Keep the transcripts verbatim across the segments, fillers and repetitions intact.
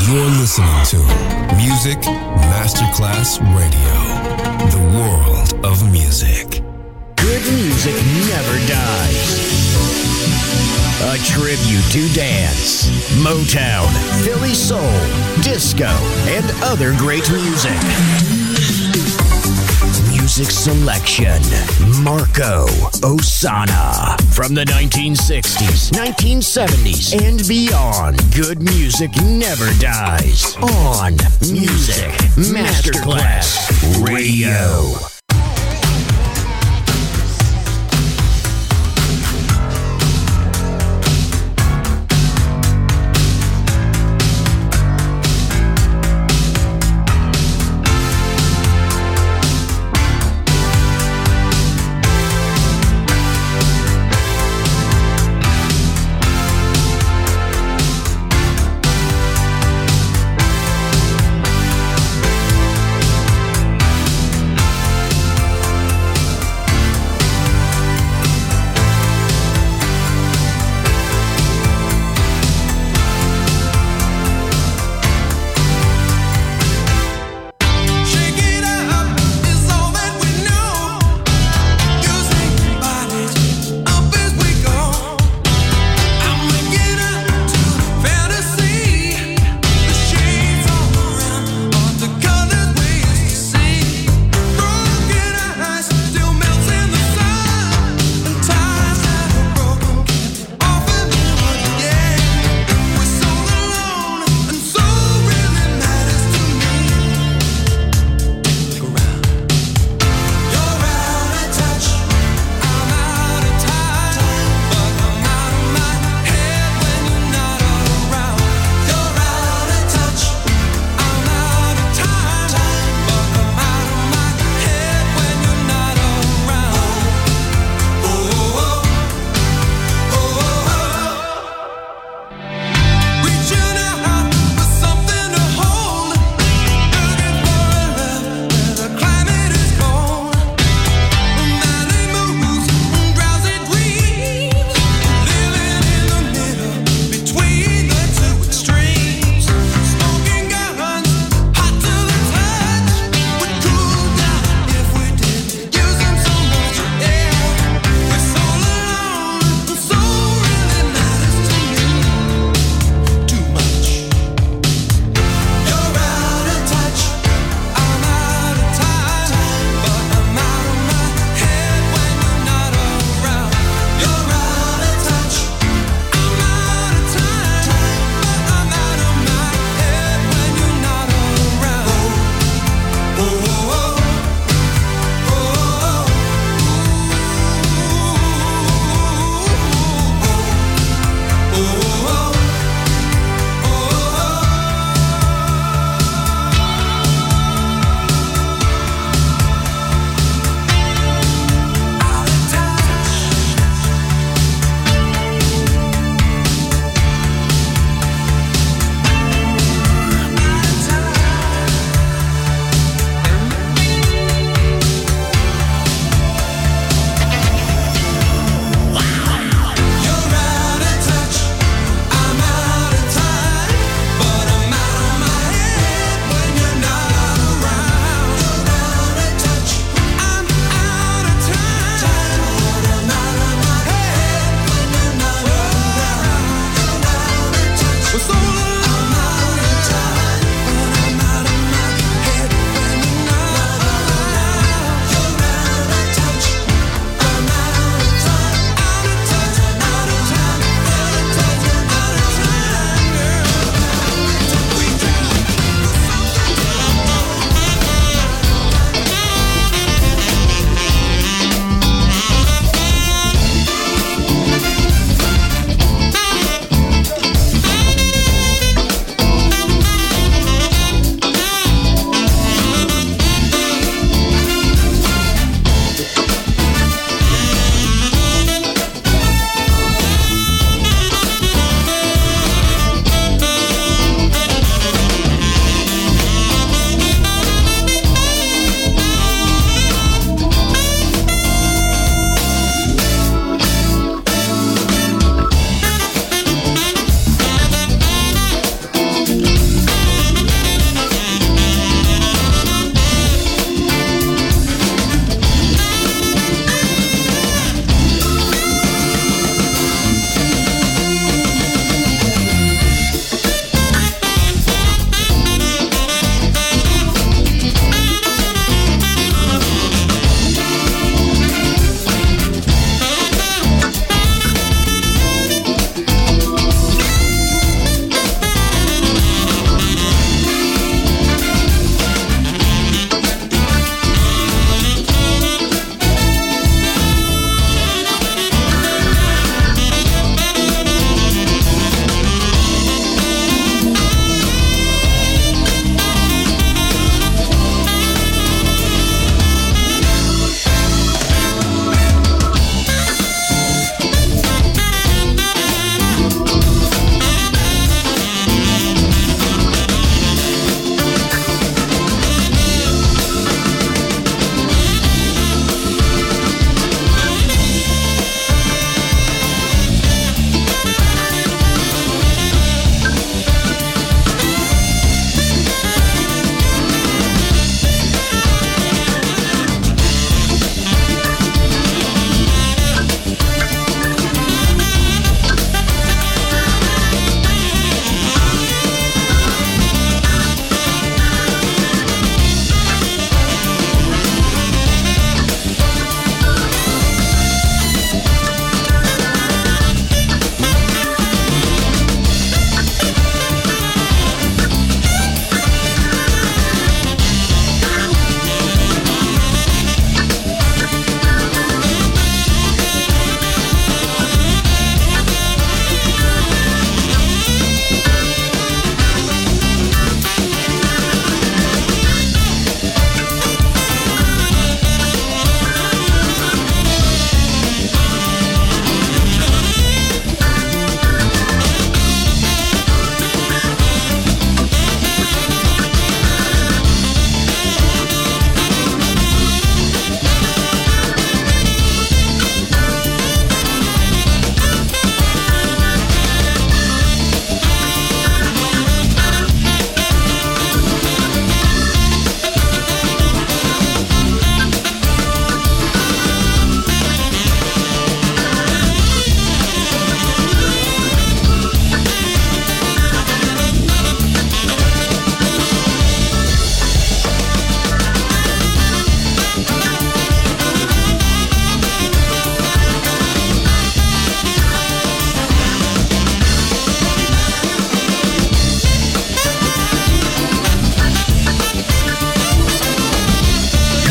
You're listening to Music Masterclass Radio, the world of music. Good music never dies. A tribute to dance, Motown, Philly soul, disco, and other great music. Music selection, Marco Ossanna. From the nineteen sixties, nineteen seventies, and beyond, good music never dies. On Music Masterclass Radio.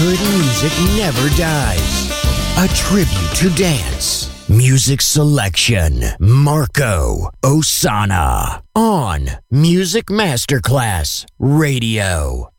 good music never dies. A tribute to dance. Music selection. Marco Ossanna on Music Masterclass Radio.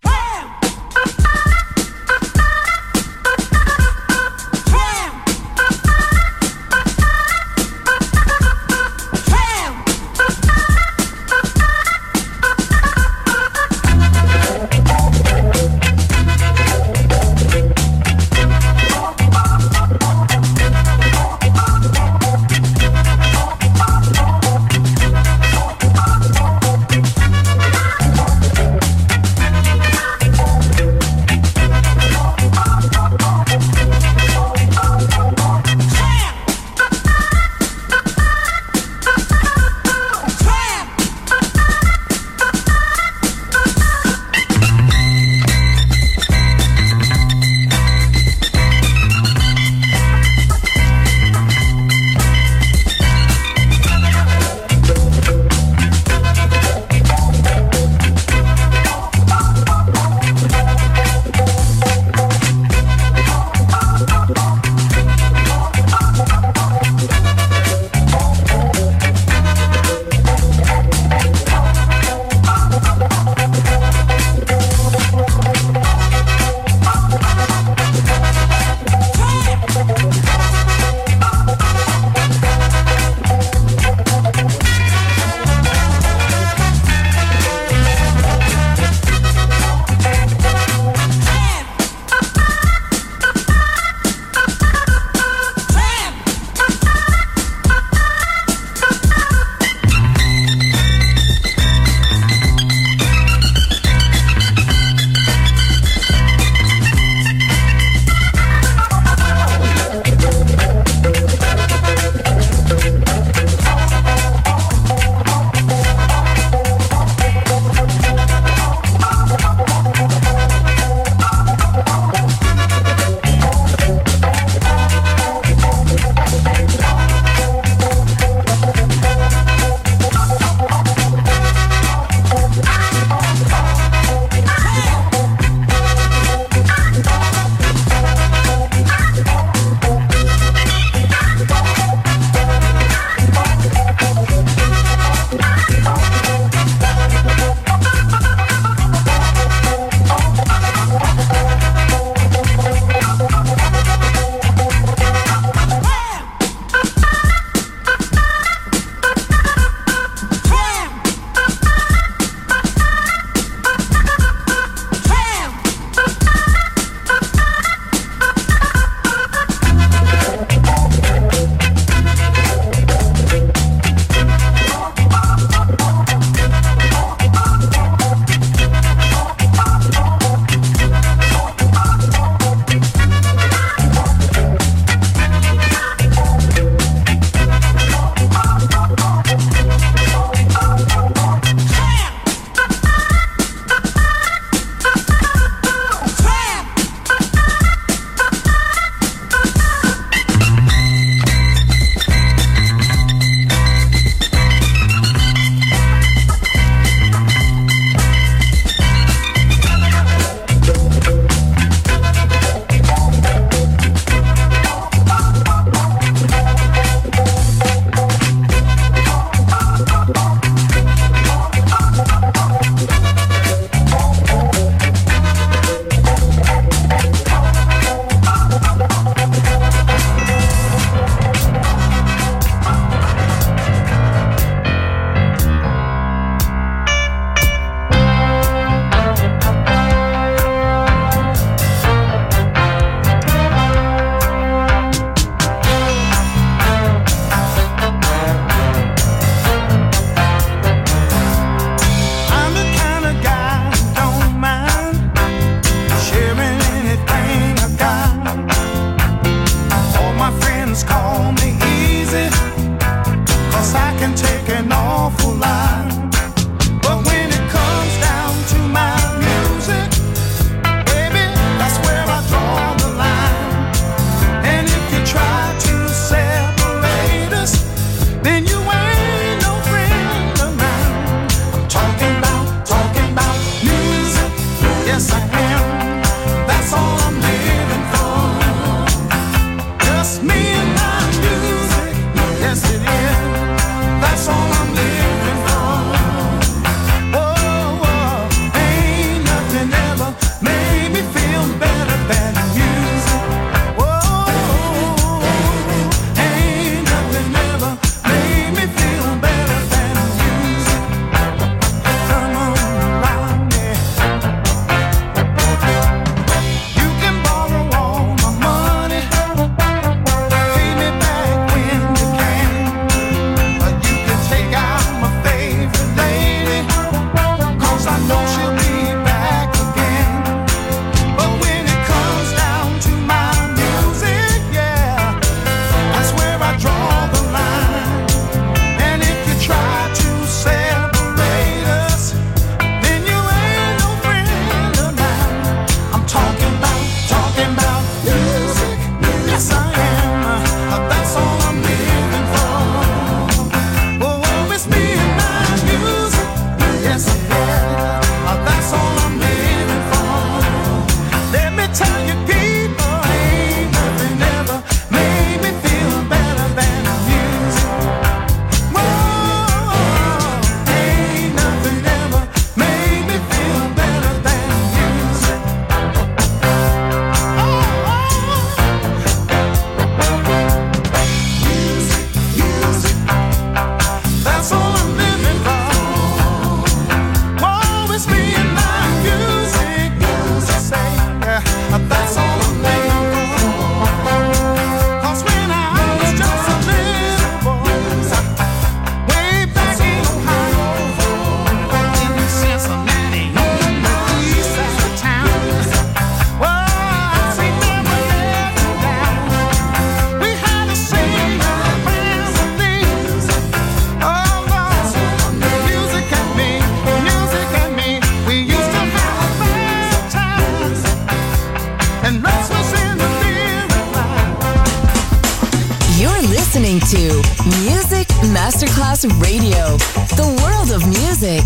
Masterclass Radio, the world of music.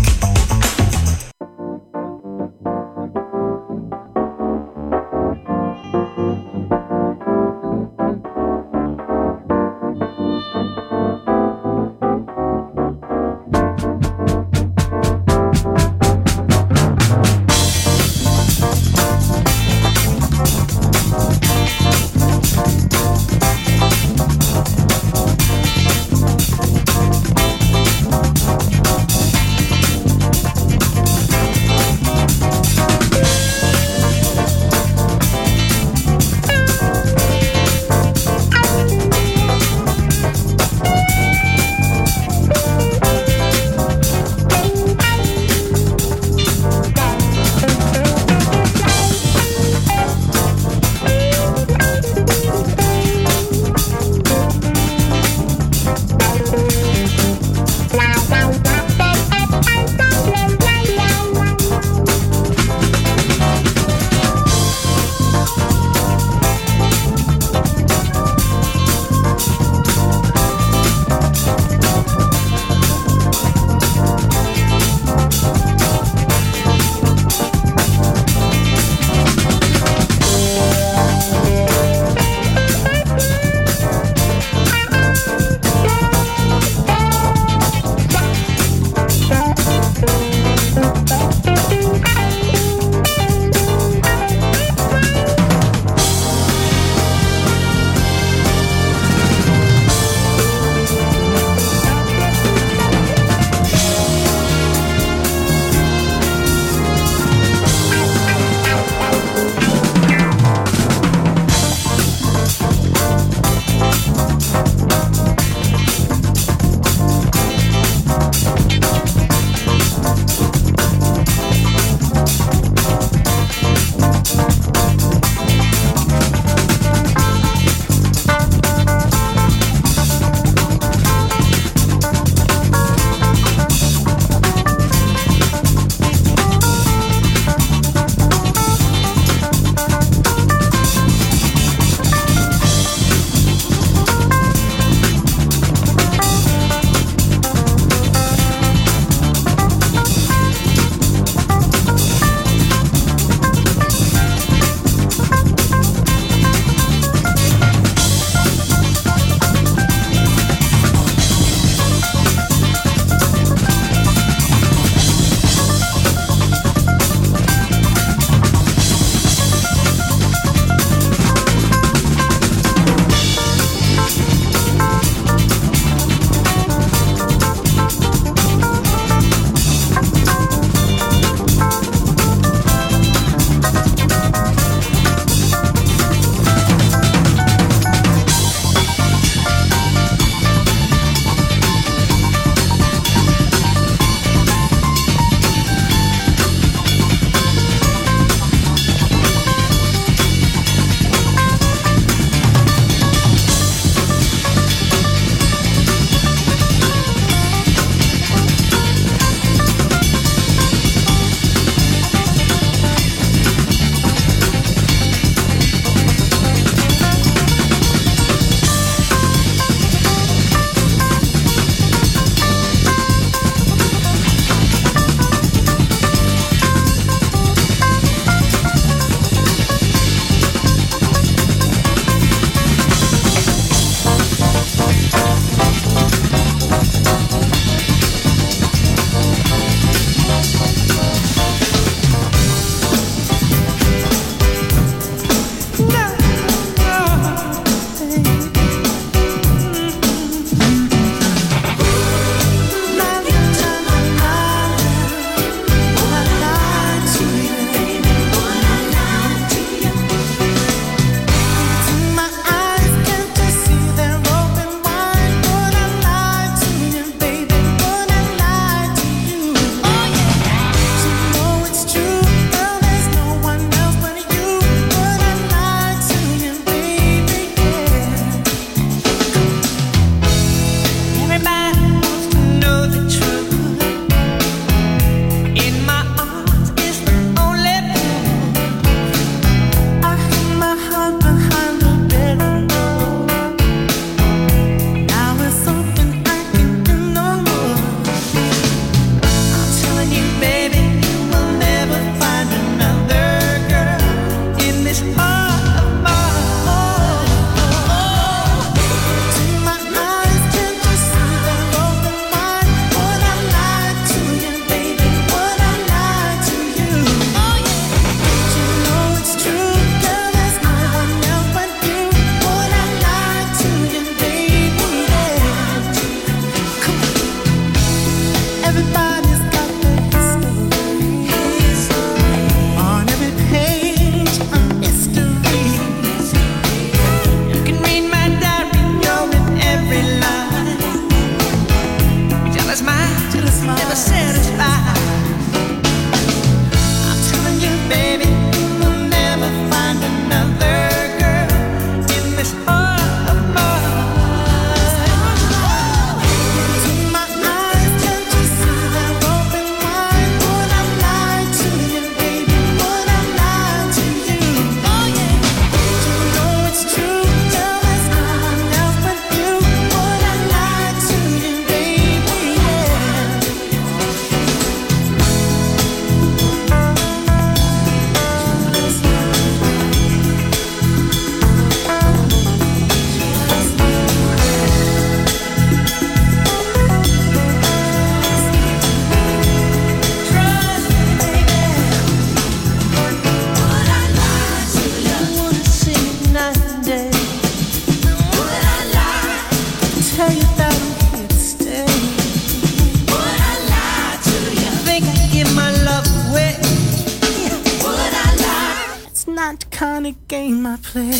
kind of game I play.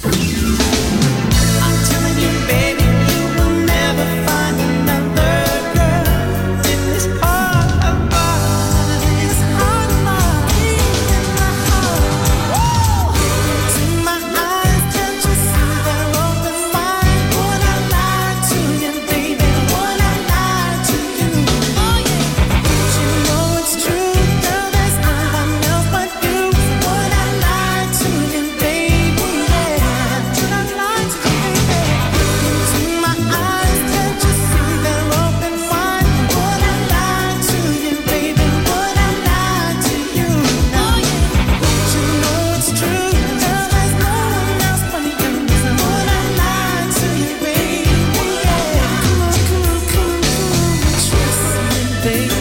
I'm telling you, baby, you will never find another girl in this heart of mine. This heart of mine, in my heart. To my eyes, can't you see they're open wide? Would I lie to you, baby? Would I lie to you? Oh yeah. You know it's true, girl. There's no one else but you. Would I lie to you, baby? Yeah. Would I lie to you, baby? Into my eyes, can't you see they're open wide? Would I lie to you, baby? Would I lie to you? Oh yeah. You know it's true, girl. There's no one else but you. So would I lie to you, baby? Yeah. Come on, come on, come on, come on. Trust me, baby.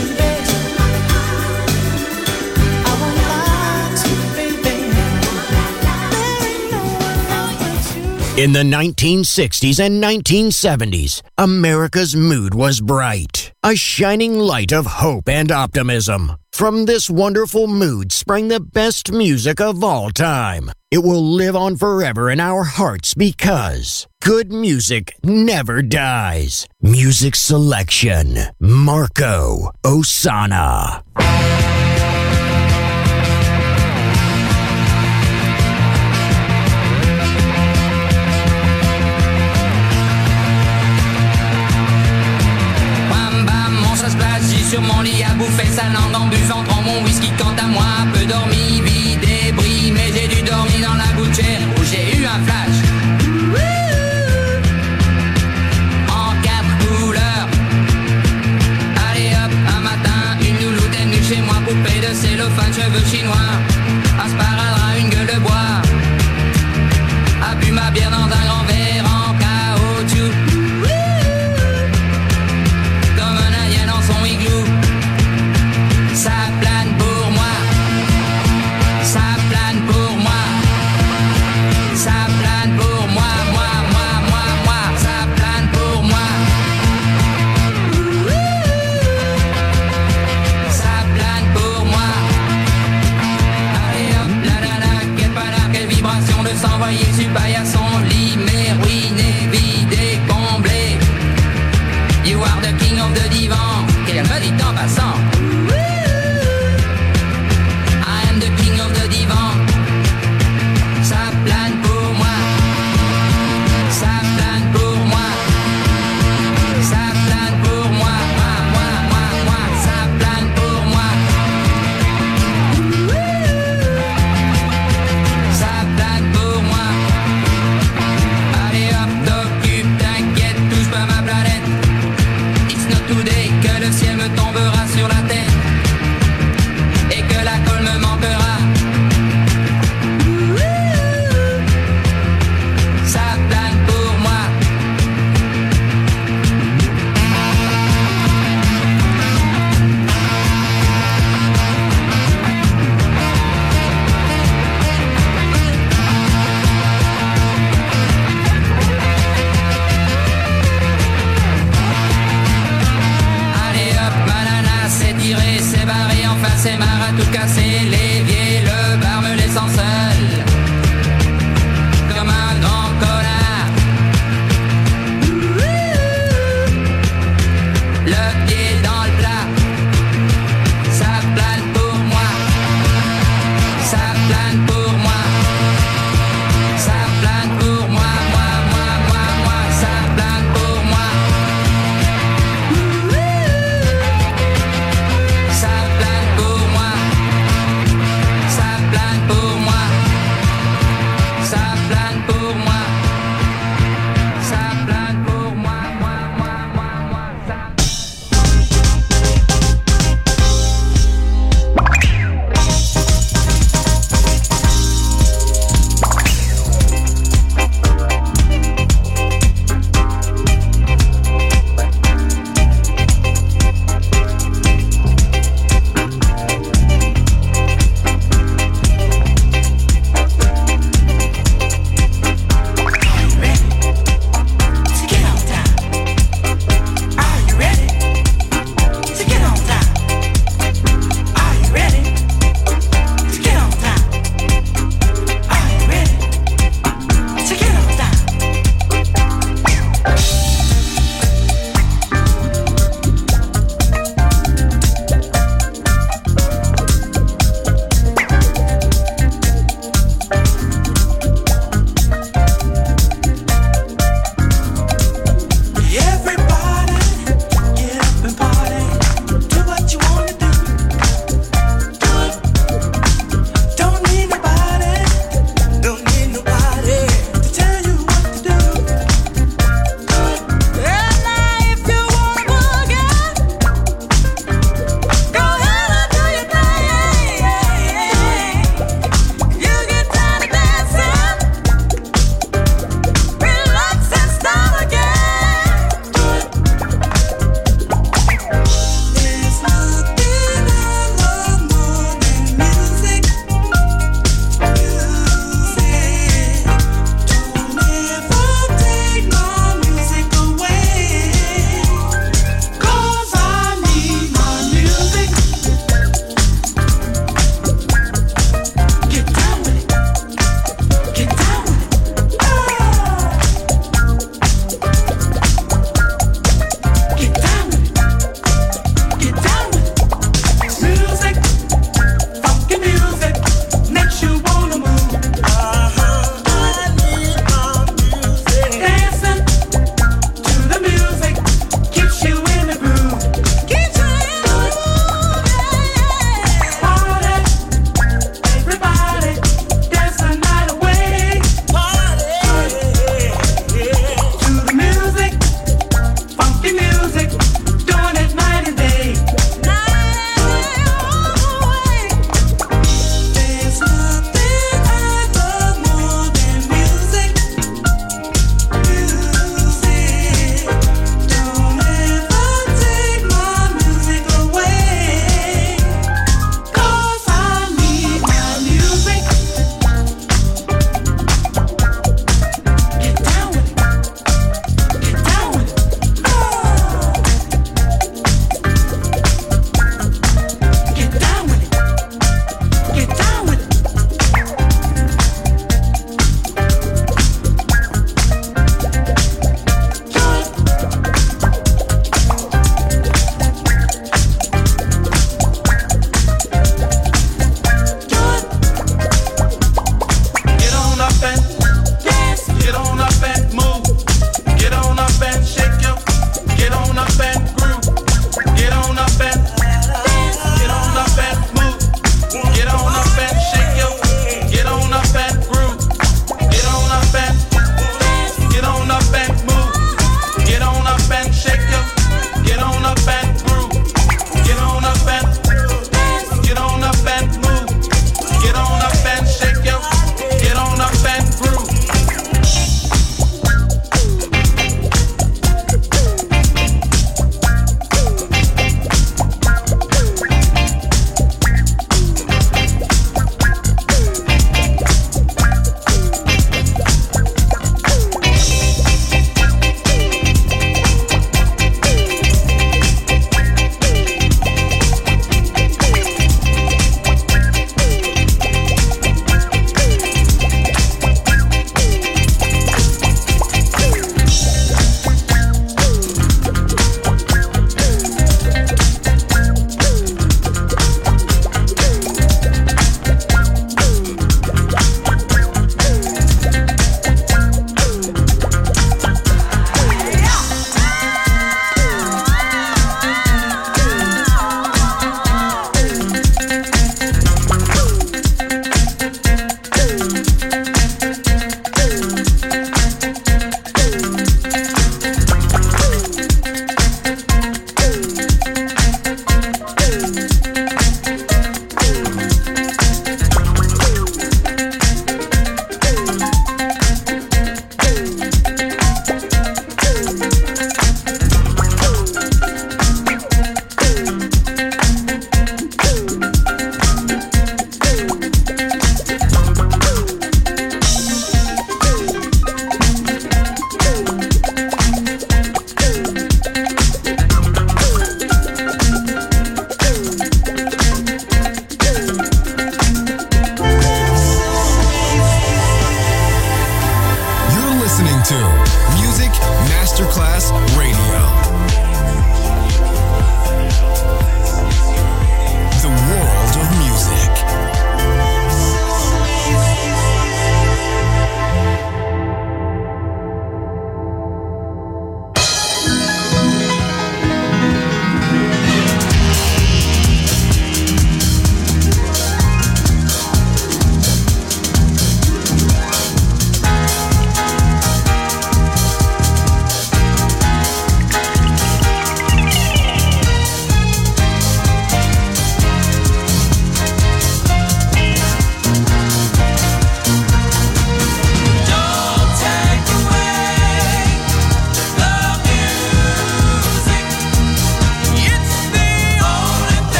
I won't lie to you, baby. There ain't no one else but you. In the nineteen sixties and nineteen seventies, America's mood was bright, a shining light of hope and optimism. From this wonderful mood sprang the best music of all time. It will live on forever in our hearts because good music never dies. Music selection, Marco Ossanna. Bam bam, on se place, j'ai sur mon lit à bouffer sa langue en buvant trop mon whisky. Quant à moi, peu dormi, vie débris, mais j'ai dû dormir dans la gouttière où j'ai eu un flash. En quatre couleurs. Allez hop, un matin, une louloute est venue chez moi, poupée de cellophane, cheveux chinois, un sparadrap, une gueule de bois, a bu ma bière dans un grand verre en caoutchouc. Comme un indien dans son igloo. Ça plane pour moi. Ça plane pour moi. Ça plane pour moi, moi, moi, moi, moi. Ça plane pour moi. Ça plane pour moi. Allez hop, la la la, quelle panard, quelle vibration de s'envoyer sur paillasson, lit, mais ruiné, vidé, comblé. You are the king of the divan. Qu'elle me dit en passant. I am the king of the divan. Ça plane pour moi. Ça plane pour moi. Ça plane pour moi. Moi, moi, moi, moi. Ça plane pour moi. Ça plane pour moi. Allez hop, t'occupe, t'inquiète, touche pas ma planète. It's not today que le ciel me tombera sur la tête et que la colle me manquera. Ça plane pour moi. Allez hop, banana, c'est tiré, c'est barré, enfin c'est marre à tout casser. L'évier, le bar me laissant seul comme un grand connard. Le pied dans le plat. Ça plane pour moi. Ça plane pour moi. Ça plane pour moi, moi, moi, moi, moi. Ça plane pour moi. Ça plane pour moi. Ça plane pour moi.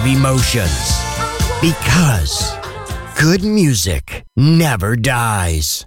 emotions. Because good music never dies.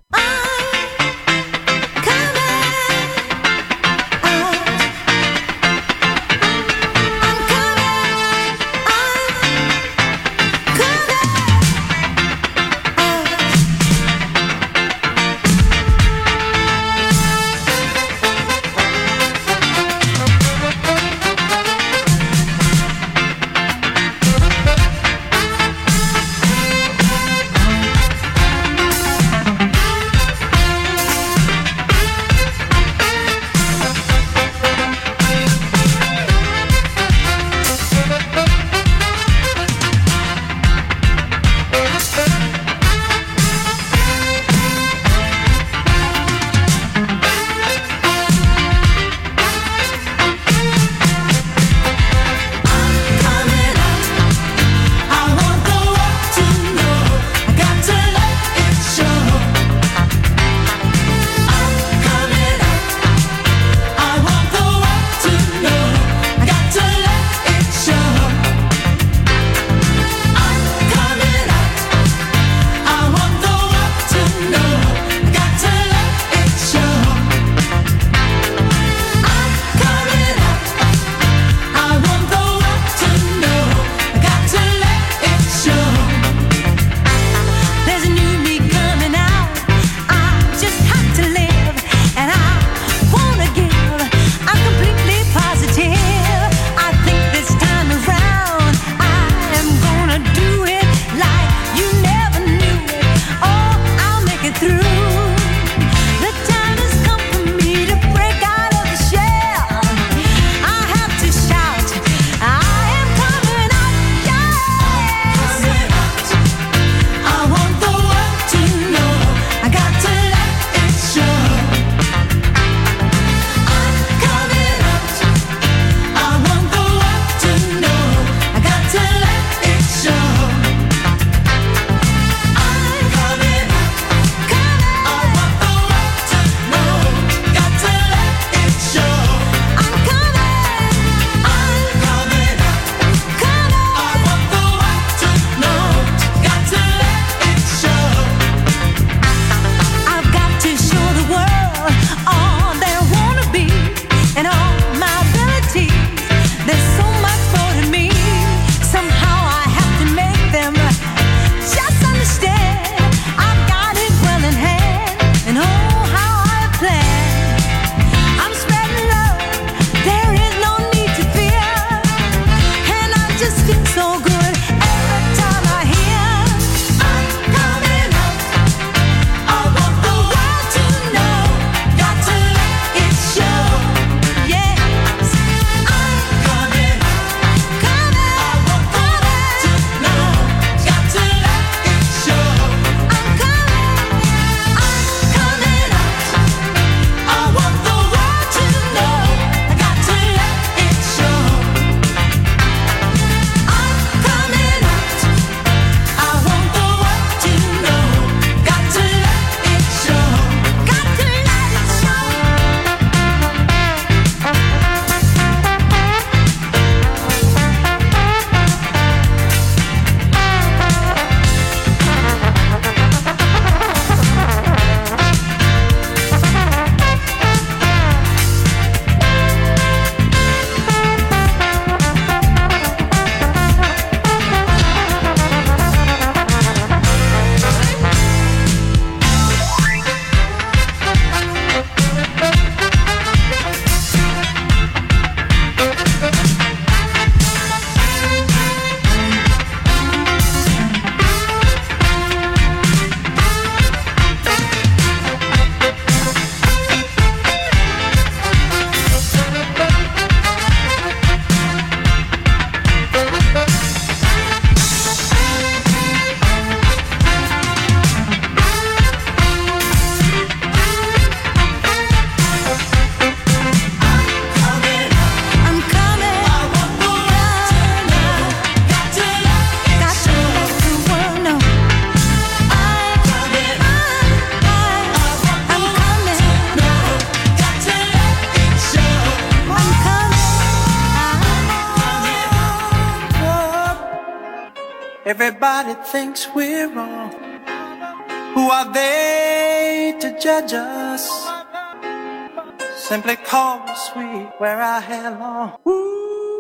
Everybody thinks we're wrong. Who are they to judge us? Simply call me sweet where I hair long. Ooh.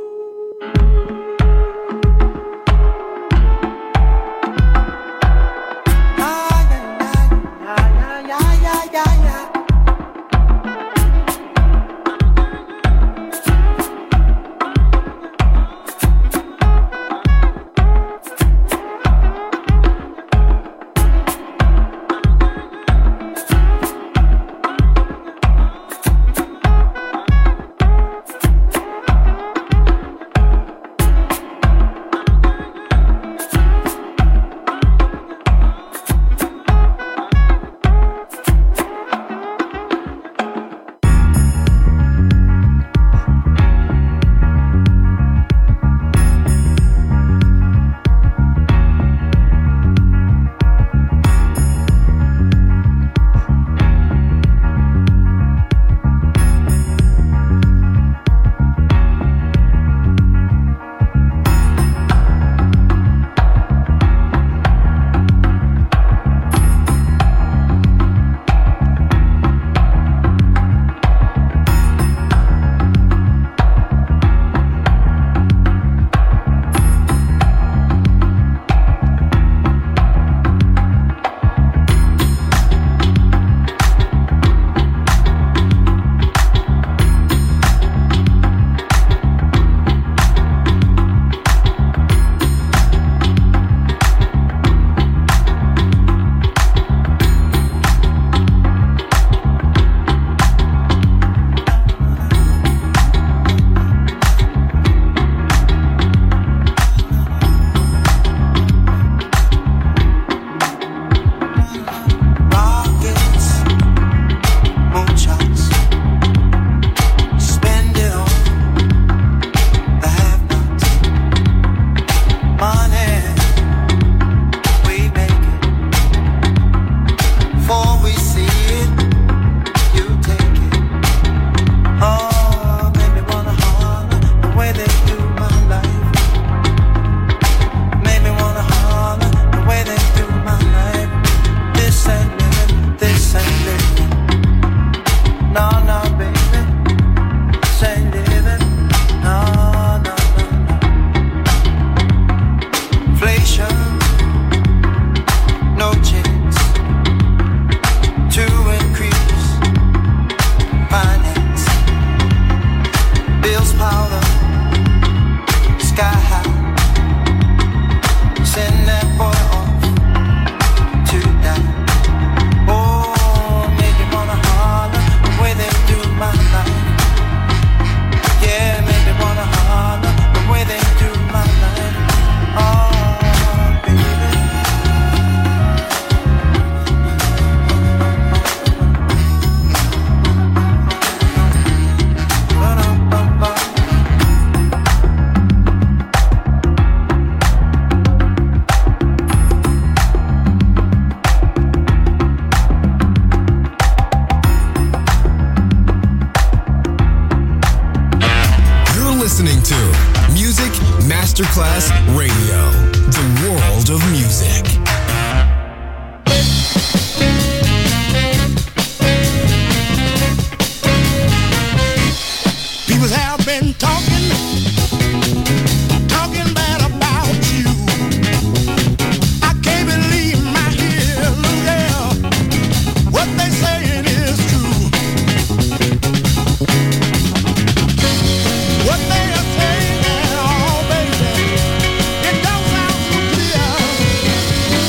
Masterclass Radio, the world of music. People have been talking, talking bad about you. I can't believe my ears, yeah. What they saying is true. What they are saying, oh baby, it don't sound so clear.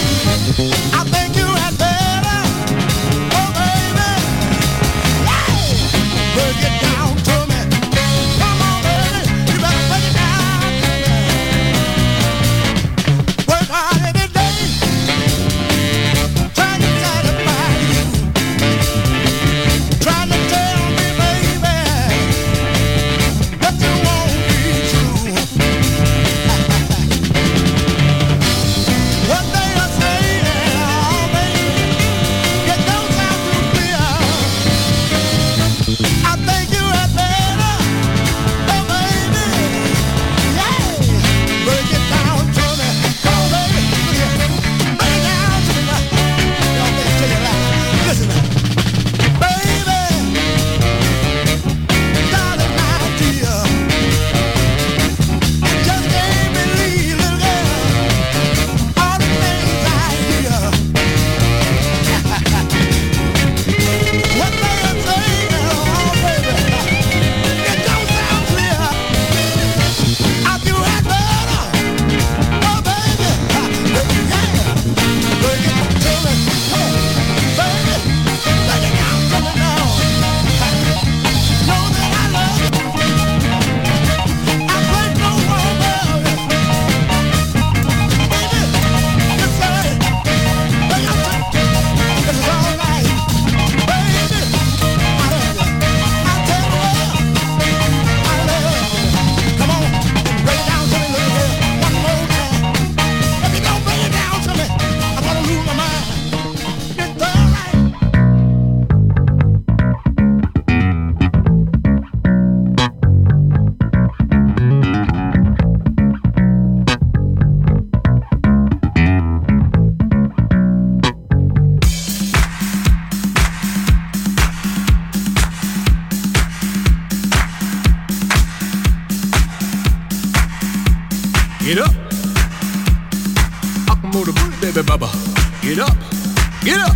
get up. Akamo the booty, baby baba. Get up, get up.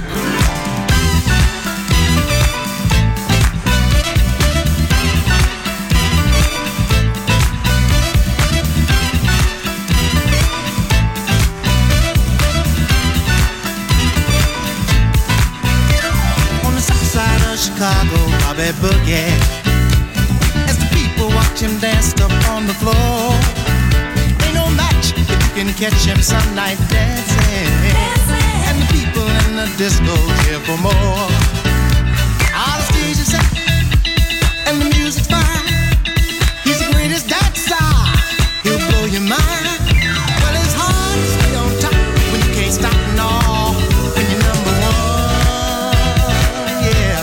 Chicago, Bobby Boogie. As the people watch him dance up on the floor, ain't no match if you can catch him some night dancing. dancing. And the people in the disco here for more. All the stage is set and the music's fine. He's the greatest dancer, he'll blow your mind. Well, it's hard to stay on top when you can't stop no. When you're number one, yeah.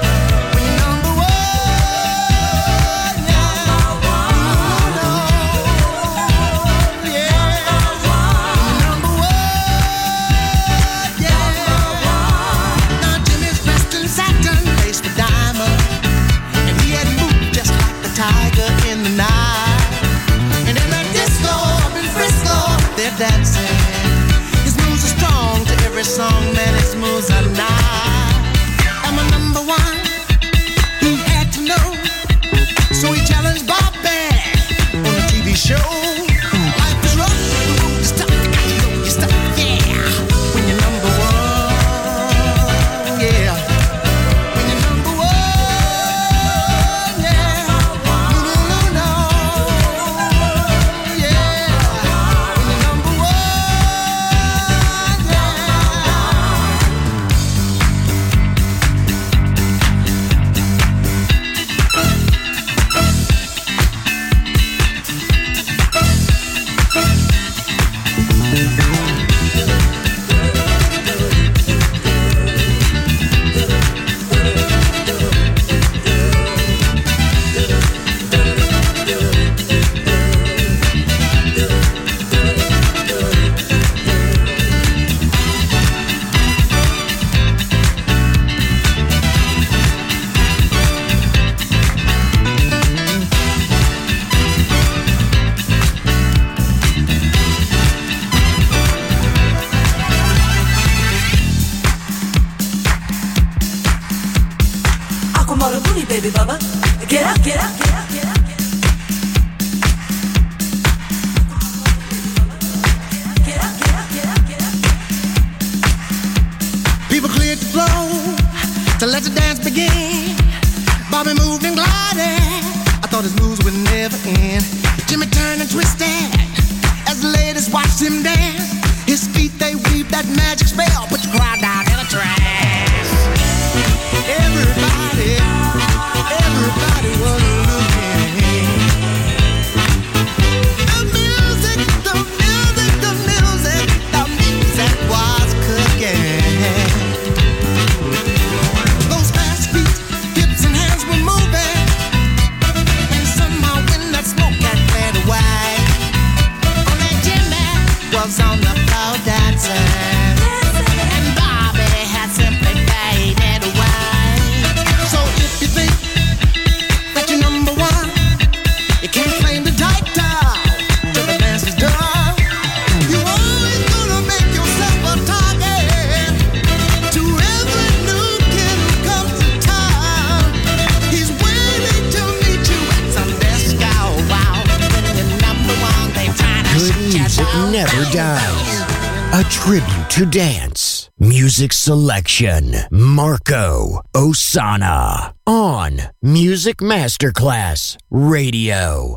Dancing. His moves are strong to every song, man, his moves are nice. I'm a number one, he had to know. So he challenged Bobby on a T V show. Life is rough, the road is tough, you got to know your stuff, yeah. When you're number one, yeah. When you're number one, yeah. No, no, no, no, yeah. Baby baba, get up, get up, get up, get up. Get up, get up, get up, get up. People cleared the floor to let the dance begin. Bobby moved and glided. I thought his moves would never end. Jimmy turned and twisted as the ladies watched him dance. His feet, they weave that magic spell. Put your crowd down in the trash. Everybody, everybody was looking. The music, the music, the music, the music was cooking. Those fast feet, hips and hands were moving. And somehow when that smoke got cleared away, oh, that Jimmy was on the floor dancing. And Bobby had simply faded away. So if you think that you're number one, you can't claim the title till the dance is done. You always gonna make yourself a target to every new kid who comes to town. He's waiting to meet you at some disco. Wow, when you're number one, they trying to Good shut you music down. never dies. A tribute to dance. Music selection. Marco Ossanna. On Music Masterclass Radio.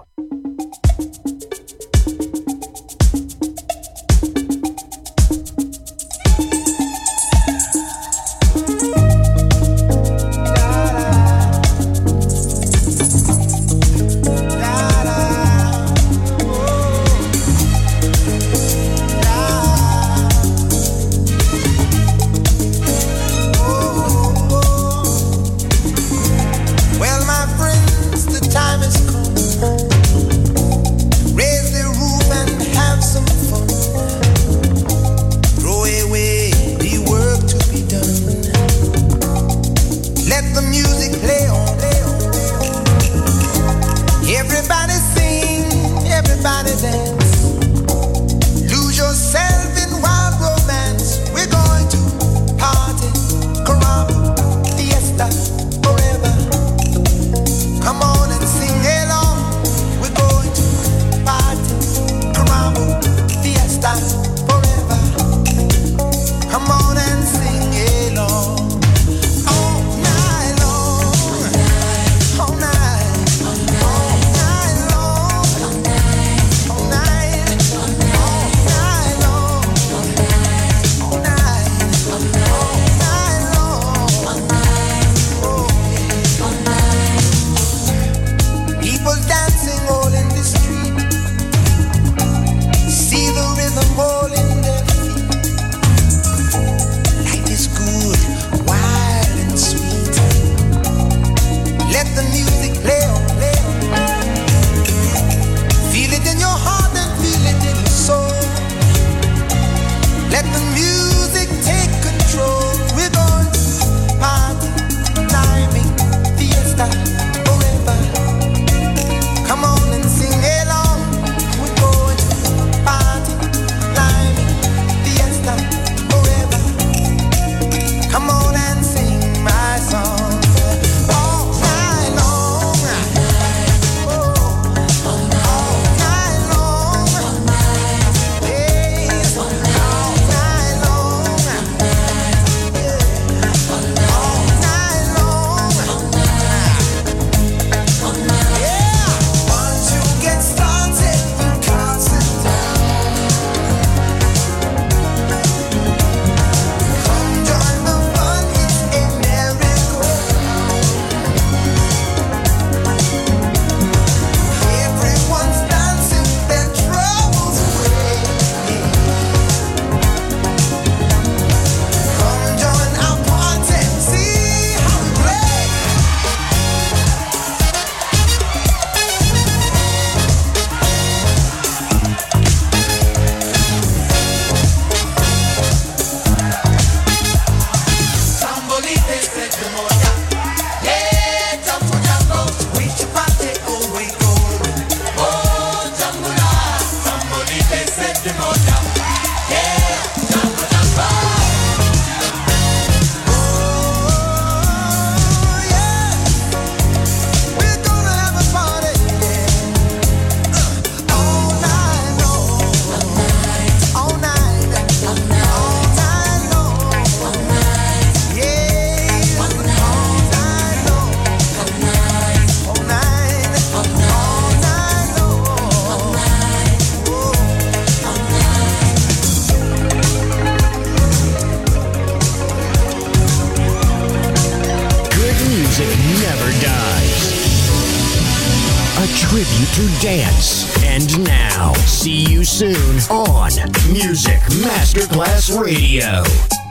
Well, my friends, the time has come Dives. A tribute to dance. And now, see you soon on Music Masterclass Radio.